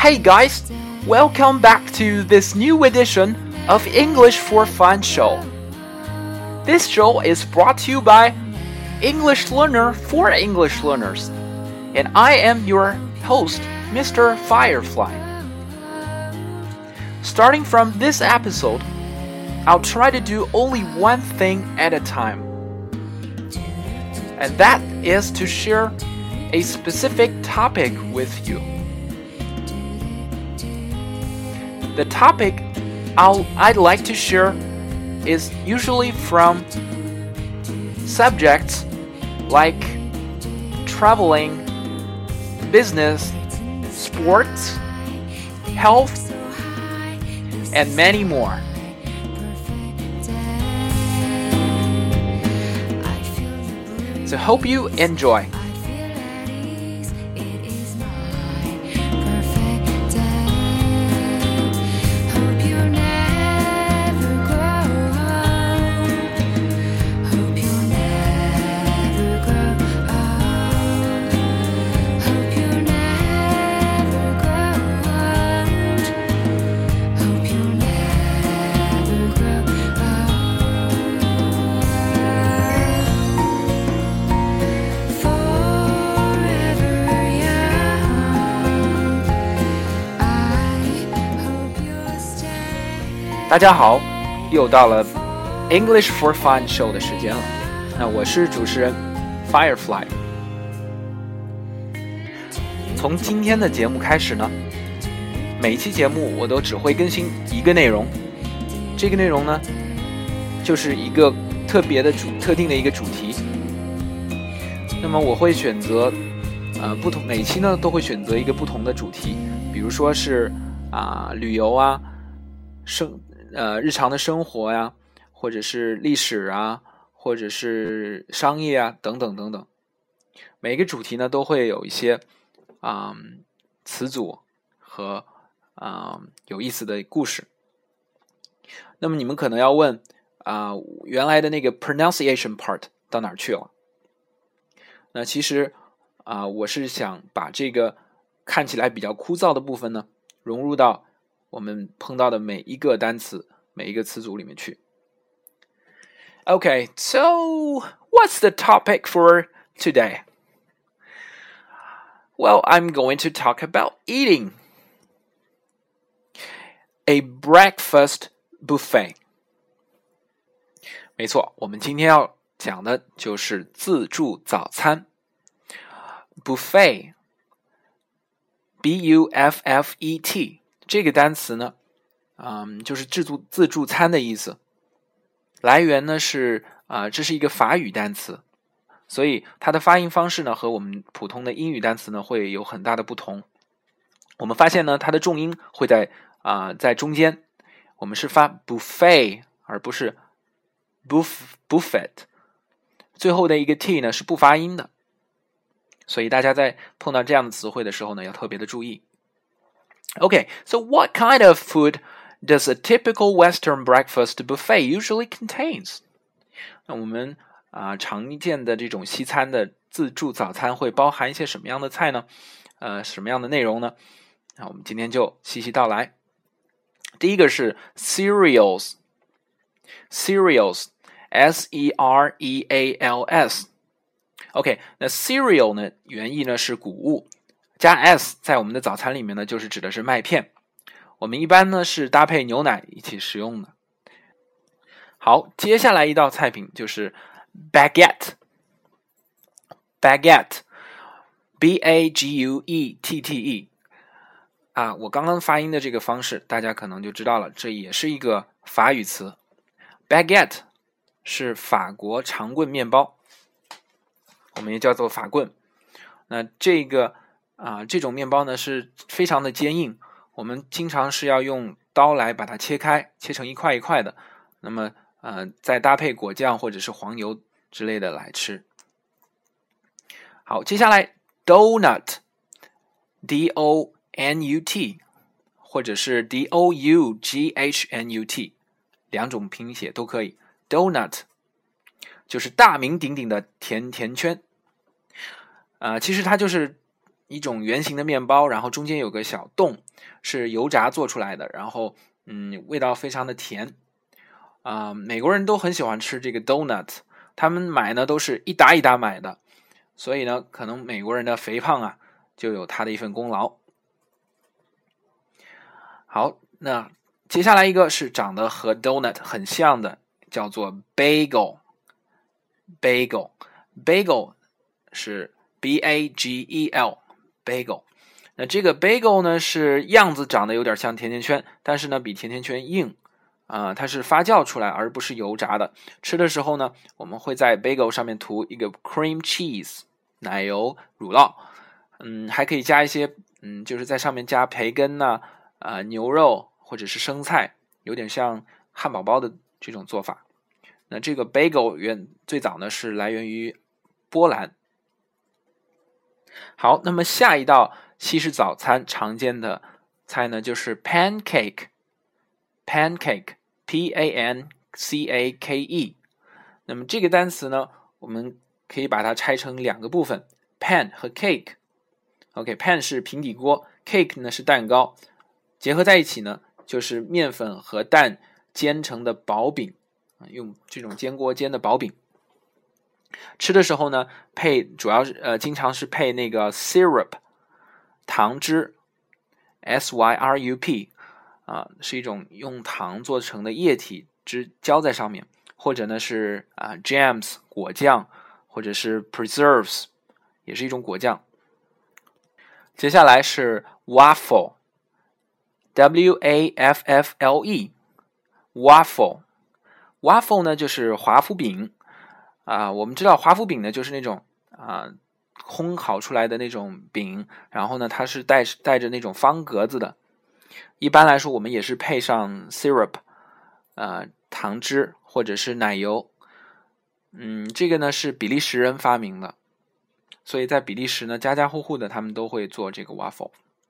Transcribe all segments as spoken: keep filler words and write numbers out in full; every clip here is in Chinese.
Hey guys, welcome back to this new edition of English for Fun show. This show is brought to you by English Learner for English Learners, and I am your host, Mister Firefly. Starting from this episode, I'll try to do only one thing at a time, and that is to share a specific topic with you. The topic I'll, I'd like to share is usually from subjects like traveling, business, sports, health, and many more. So hope you enjoy.大家好，又到了 English for Fun show 的时间了。那我是主持人 Firefly。从今天的节目开始呢，每一期节目我都只会更新一个内容。这个内容呢，就是一个特别的主特定的一个主题。那么我会选择呃不同每期呢都会选择一个不同的主题，比如说是啊、呃、旅游啊，生呃，日常的生活呀，或者是历史啊，或者是商业啊，等等等等。每个主题呢，都会有一些啊、嗯、词组和啊、嗯、有意思的故事。那么你们可能要问啊、呃，原来的那个 pronunciation part 到哪儿去了？那其实啊、呃，我是想把这个看起来比较枯燥的部分呢，融入到我们碰到的每一个单词、每一个词组里面去。Okay, so what's the topic for today? Well, I'm going to talk about eating. A breakfast buffet. 没错，我们今天要讲的就是自助早餐。Buffet, B U F F E T。这个单词呢，嗯，就是自助自助餐的意思。来源呢是啊、呃，这是一个法语单词，所以它的发音方式呢和我们普通的英语单词呢会有很大的不同。我们发现呢，它的重音会在啊、呃、在中间，我们是发 buffet 而不是 buff buffet。最后的一个 t 呢是不发音的，所以大家在碰到这样的词汇的时候呢，要特别的注意。Okay, so what kind of food does a typical Western breakfast buffet usually contains? 那我们啊、呃、常见的这种西餐的自助早餐会包含一些什么样的菜呢？呃，什么样的内容呢？那我们今天就细细道来。第一个是 cereals, cereals, S E R E A L S。OK, 那 cereal 呢，原意呢是谷物。加 s 在我们的早餐里面呢，就是指的是麦片。我们一般呢是搭配牛奶一起食用的。好，接下来一道菜品就是 baguette, baguette, B A G U E T T E。啊，我刚刚发音的这个方式，大家可能就知道了，这也是一个法语词。baguette 是法国长棍面包，我们也叫做法棍。那这个啊、呃，这种面包呢是非常的坚硬，我们经常是要用刀来把它切开，切成一块一块的，那么呃，再搭配果酱或者是黄油之类的来吃。好，接下来 donut, D O N U T 或者是 D O U G H N U T， 两种拼写都可以。donut 就是大名鼎鼎的甜甜圈。呃，其实它就是一种圆形的面包，然后中间有个小洞，是油炸做出来的，然后嗯，味道非常的甜啊、呃。美国人都很喜欢吃这个 donut， 他们买呢都是一打一打买的，所以呢，可能美国人的肥胖啊，就有他的一份功劳。好，那接下来一个是长得和 donut 很像的，叫做 bagel。bagel bagel 是 B A G E L bagel。那这个 bagel 呢是样子长得有点像甜甜圈，但是呢比甜甜圈硬啊、呃，它是发酵出来而不是油炸的。吃的时候呢，我们会在 bagel 上面涂一个 cream cheese 奶油乳酪，嗯，还可以加一些嗯，就是在上面加培根呐、啊、呃、牛肉或者是生菜，有点像汉堡包的这种做法。那这个 bagel 原最早呢是来源于波兰。好，那么下一道西式早餐常见的菜呢就是 pancake pancake P A N C A K E。 那么这个单词呢，我们可以把它拆成两个部分， pan 和 cake。 OK， pan 是平底锅， cake 呢是蛋糕，结合在一起呢就是面粉和蛋煎成的薄饼，用这种煎锅煎的薄饼。吃的时候呢，配主要呃经常是配那个 syrup 糖汁 S Y R U P 啊、呃，是一种用糖做成的液体汁浇在上面，或者呢是啊、呃、jams 果酱，或者是 preserves 也是一种果酱。接下来是 waffle W A F F L E waffle waffle 呢就是华夫饼啊、呃，我们知道华夫饼呢就是那种啊、呃、烘烤出来的那种饼，然后呢它是带带着那种方格子的。一般来说我们也是配上 syrup 呃糖汁或者是奶油。嗯，这个呢是比利时人发明的，所以在比利时呢家家户户的他们都会做这个 waffle。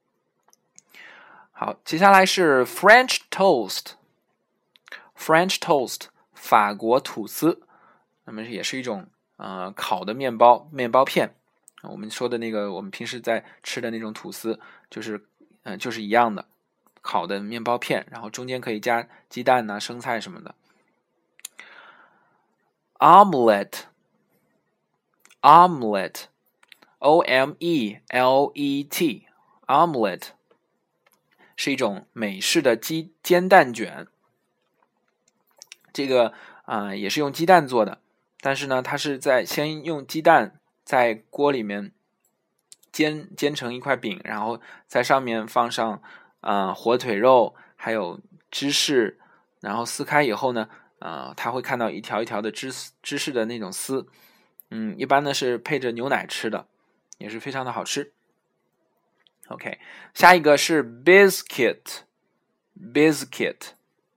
好，接下来是 French toast French toast 法国吐司，那么也是一种呃烤的面包面包片。我们说的那个我们平时在吃的那种吐司就是呃就是一样的烤的面包片，然后中间可以加鸡蛋啊生菜什么的。Omelette Omelette O M E L E T Omelette 是一种美式的鸡煎蛋卷，这个啊、呃、也是用鸡蛋做的，但是呢它是在先用鸡蛋在锅里面煎煎成一块饼，然后在上面放上啊、呃、火腿肉还有芝士，然后撕开以后呢呃它会看到一条一条的芝芝士的那种丝，嗯一般呢是配着牛奶吃的，也是非常的好吃。OK， 下一个是 biscuit biscuit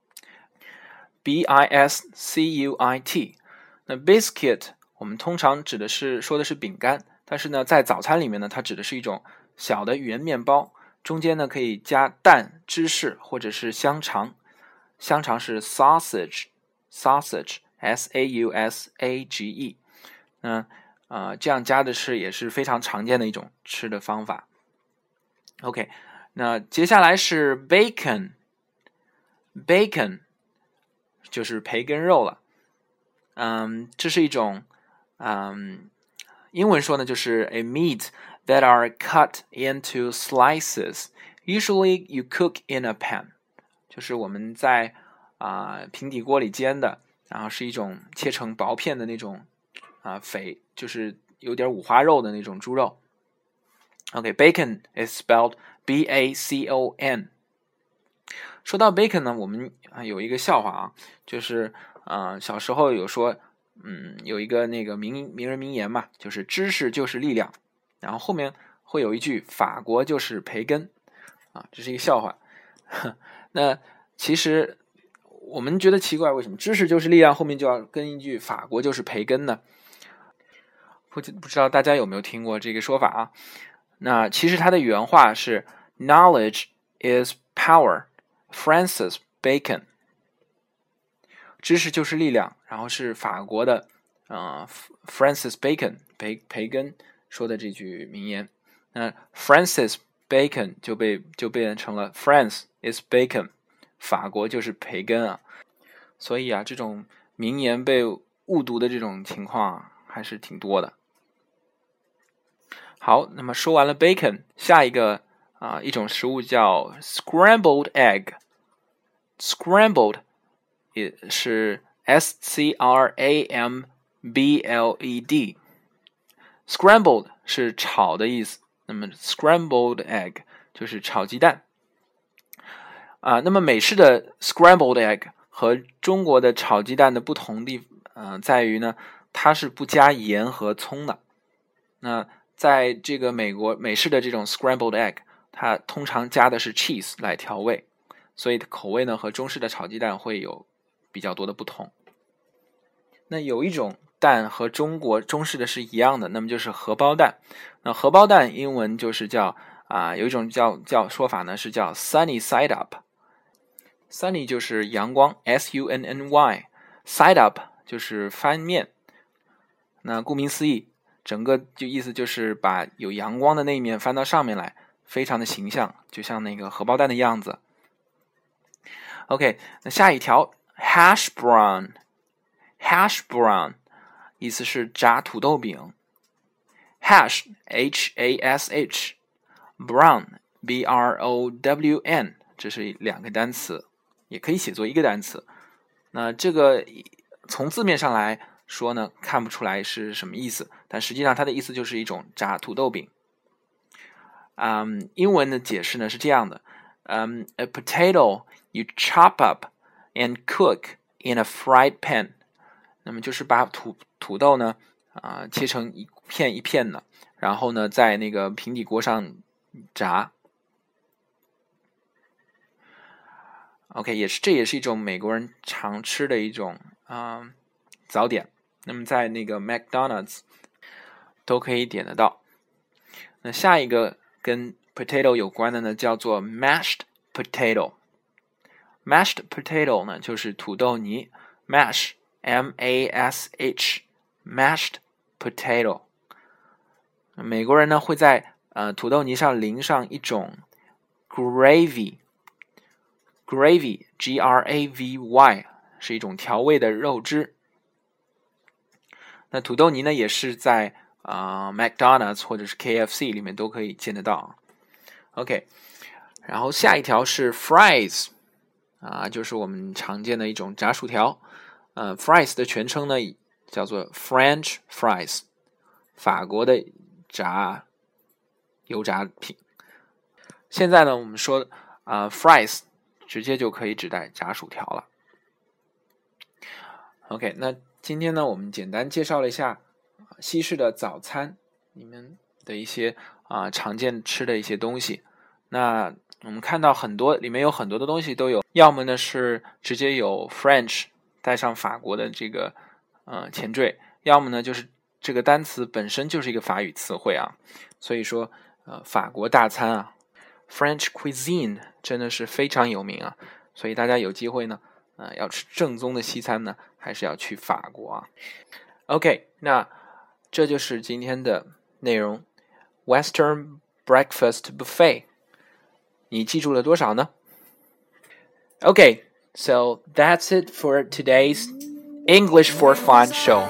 B I S C U I T。 那 biscuit 我们通常指的是说的是饼干，但是呢在早餐里面呢它指的是一种小的圆面包，中间呢可以加蛋芝士或者是香肠，香肠是 sausage sausage S A U S A G E。 那呃这样加的是也是非常常见的一种吃的方法。OK， 那接下来是 bacon bacon 就是培根肉了。嗯，这是一种嗯英文说呢就是 a meat that are cut into slices usually you cook in a pan， 就是我们在啊、呃、平底锅里煎的，然后是一种切成薄片的那种啊、呃、肥，就是有点五花肉的那种猪肉。OK， bacon is spelled B A C O N。 说到 bacon 呢，我们有一个笑话啊，就是呃小时候有说嗯有一个那个名名人名言嘛，就是知识就是力量，然后后面会有一句法国就是培根啊，这是一个笑话。那其实我们觉得奇怪，为什么知识就是力量后面就要跟一句法国就是培根呢？不不知道大家有没有听过这个说法啊？那其实它的原话是 Knowledge is power Francis Bacon， 知识就是力量，然后是法国的呃 Francis Bacon 培培根说的这句名言。 那 Francis Bacon 就被就变成了 France is Bacon， 法国就是培根啊。所以啊，这种名言被误读的这种情况啊，还是挺多的。好，那么说完了 bacon， 下一个啊一种食物叫 scrambled egg。scrambled 也是 S C R A M B L E D。scrambled 是炒的意思，那么 scrambled egg 就是炒鸡蛋啊。那么美式的 scrambled egg 和中国的炒鸡蛋的不同地呃在于呢，它是不加盐和葱的。那在这个美国美式的这种 scrambled egg， 它通常加的是 cheese 来调味，所以口味呢和中式的炒鸡蛋会有比较多的不同。那有一种蛋和中国中式的是一样的，那么就是荷包蛋。那荷包蛋英文就是叫啊、呃，有一种叫叫说法呢是叫 sunny side up。sunny 就是阳光 S U N N Y，side up 就是翻面。那顾名思义，整个就意思就是把有阳光的那一面翻到上面来，非常的形象，就像那个荷包蛋的样子。OK， 那下一条 hash brown。hash brown 意思是炸土豆饼。hash H A S H brown B R O W N 这是两个单词，也可以写作一个单词。那这个从字面上来说呢，看不出来是什么意思，但实际上它的意思就是一种炸土豆饼。嗯，英文的解释呢是这样的，嗯 ，a potato you chop up and cook in a fried pan。那么就是把土土豆呢啊、呃、切成一片一片的，然后呢在那个平底锅上炸。OK， 也是这也是一种美国人常吃的一种啊、呃、早点。那么在那个 McDonald's 都可以点得到。那下一个跟 potato 有关的呢，叫做 mashed potato。mashed potato 呢就是土豆泥 ，mash M A S H mashed potato。美国人呢会在呃土豆泥上淋上一种 gravy。gravy G R A V Y 是一种调味的肉汁。那土豆泥呢也是在啊、呃、McDonald's 或者是 K F C 里面都可以见得到。OK， 然后下一条是 fries 啊，就是我们常见的一种炸薯条。呃 fries 的全称呢叫做 French fries， 法国的炸油炸品。现在呢我们说啊、呃、fries 直接就可以指代炸薯条了。OK， 那今天呢我们简单介绍了一下西式的早餐里面的一些啊、呃、常见吃的一些东西。那我们看到很多里面有很多的东西都有，要么呢是直接有 French 带上法国的这个呃前缀，要么呢就是这个单词本身就是一个法语词汇啊。所以说呃法国大餐啊 French cuisine 真的是非常有名啊，所以大家有机会呢呃要吃正宗的西餐呢还是要去法国啊。OK， 那这就是今天的内容 Western Breakfast Buffet， 你记住了多少呢？ Okay, so that's it for today's English for Fun show.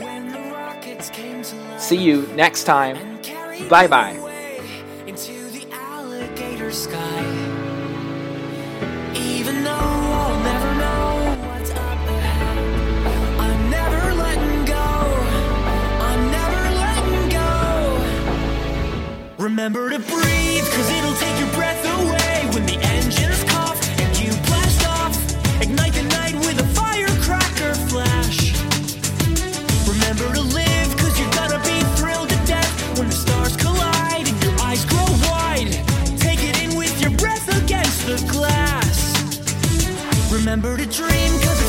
See you next time. Bye bye. Even though I'll never know what's up ahead, I'm never letting go. I'm never letting go. Remember to breathe, cause it'll take your breath away when the engines cough and you blast off. Ignite the night with a firecracker flash. Remember to live, cause you're gonna be thrilled to death when the stars collide and your eyes grow wide. Take it in with your breath against the glass. Remember to dream, cause